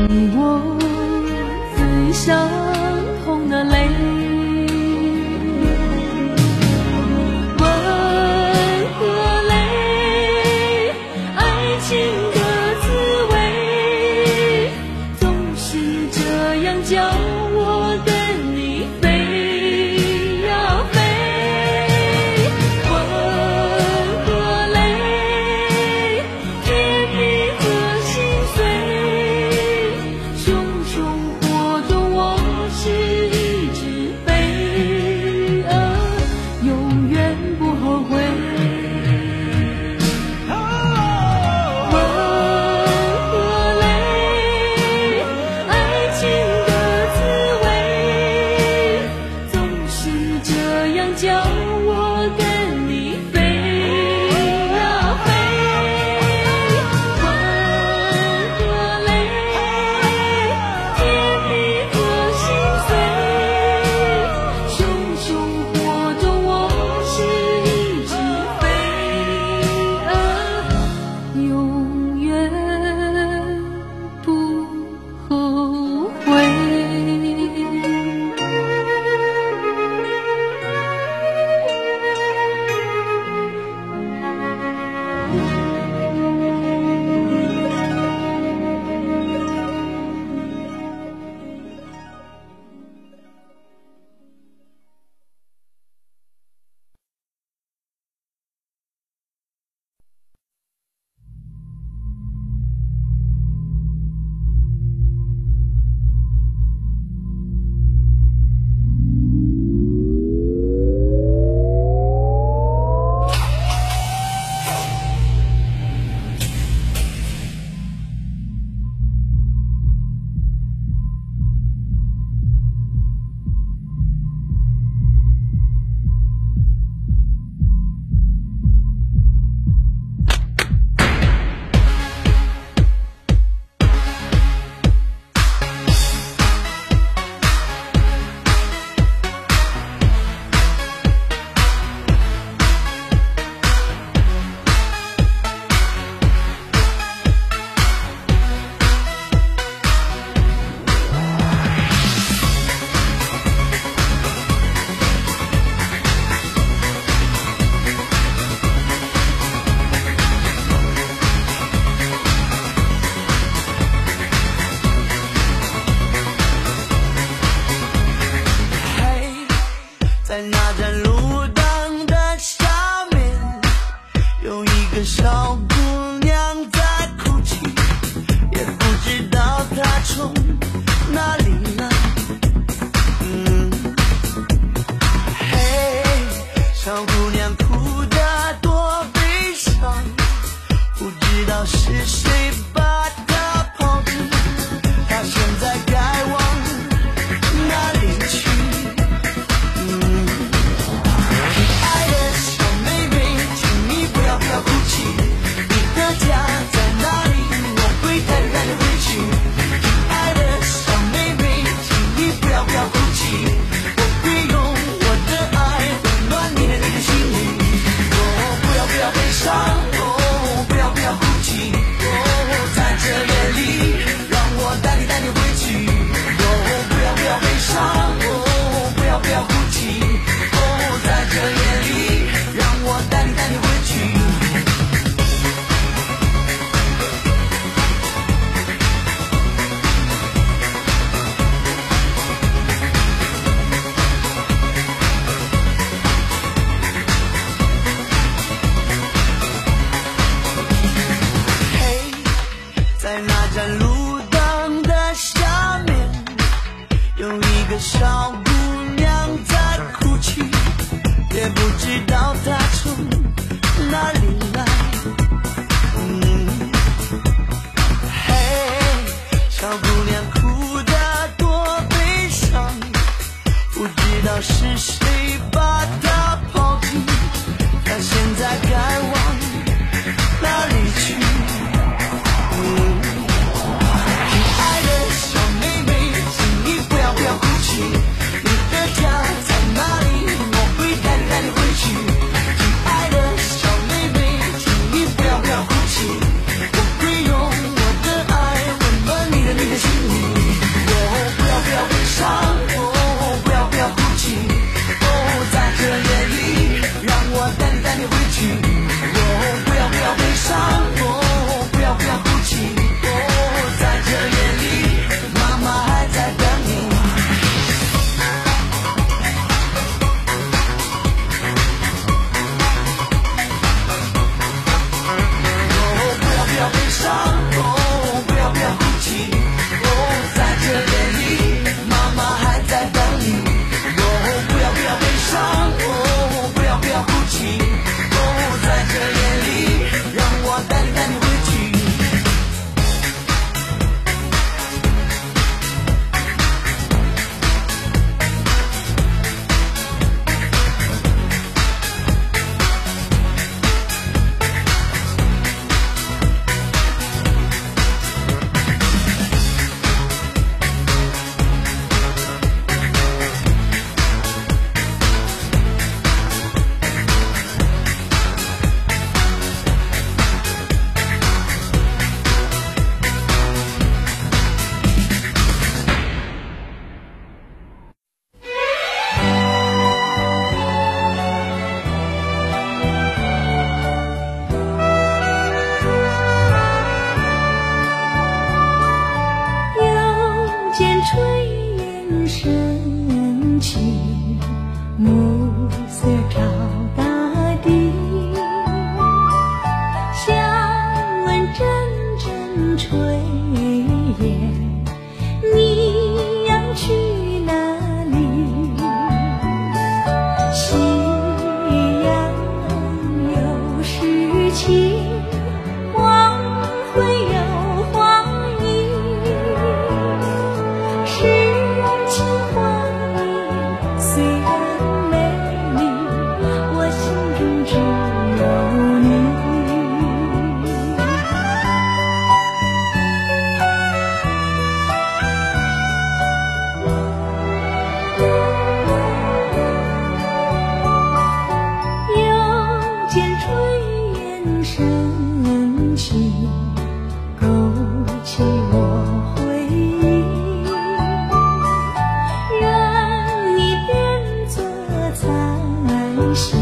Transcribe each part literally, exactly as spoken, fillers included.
你我最相同的泪，温和泪，爱情的滋味，总是这样叫我跟你飞呀飞。温和泪，甜蜜和心碎，熊熊火中我是一只飞蛾，永远不后悔。温和泪，爱情的滋味，总是这样叫我跟你飞呀飞。温和泪，甜蜜和心碎，熊熊火中我是一只飞蛾，永远不后悔。 在那盏路灯的下面，有一个小姑娘在哭泣，也不知道她从哪里来。嗯，嘿，小姑娘哭得多悲伤，不知道是谁把她抛弃，她现在该往哪里去？不要哭泣，你的家在哪里？我会带带你回去。亲爱的小妹妹，请你不要不要哭泣，我会用我的爱温暖你的心灵。哦，不要不要悲伤，哦，不要不要哭泣，哦，在这夜里，让我带你带你回去。哦，不要不要悲伤，哦，不要不要哭泣，哦，在这夜里，让我带你带你回去。在那盏路灯的下面，有一个小姑娘在哭泣，也不知道她从哪里来。嗯，嘿，小姑娘哭得多悲伤，不知道是谁把她抛弃，她现在该往哪里去？你的家在哪里？我会带你带你回去。亲爱的小妹妹，请你不要升起，暮色照大地，想问阵阵炊烟，你要去哪里？夕阳有诗情，黄昏有黄莺，诗情画意虽然美丽，我心中只有你。又见炊烟升起，勾起我回忆，让你变作彩霞，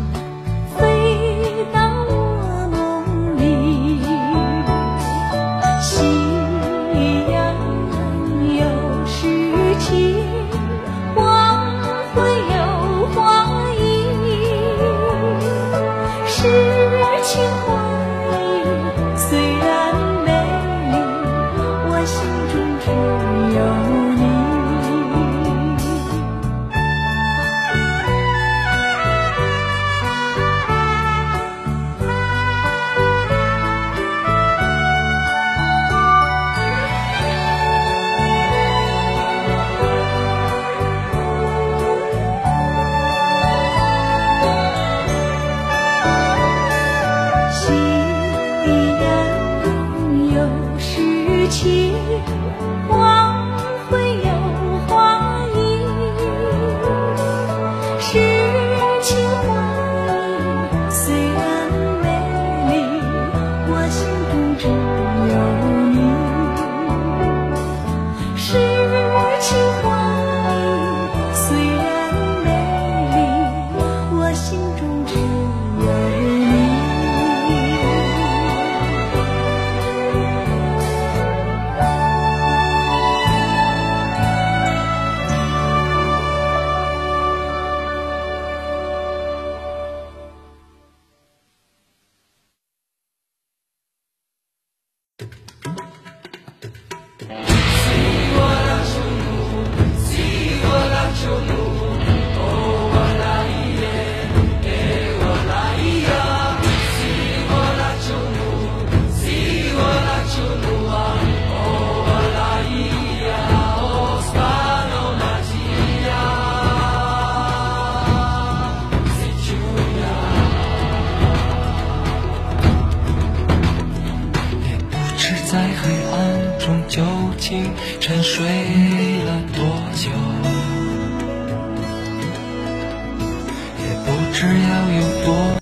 飞到我梦里。夕阳有诗情，黄昏有黄莺，诗情画意虽然美丽，我心中只有你。夕阳有诗情，黄昏有黄莺，诗情画意虽然美丽，我心中只有你。诗情画意虽然美丽，我心中只有你。 在黑暗中究竟沉睡了多久，也不知要有多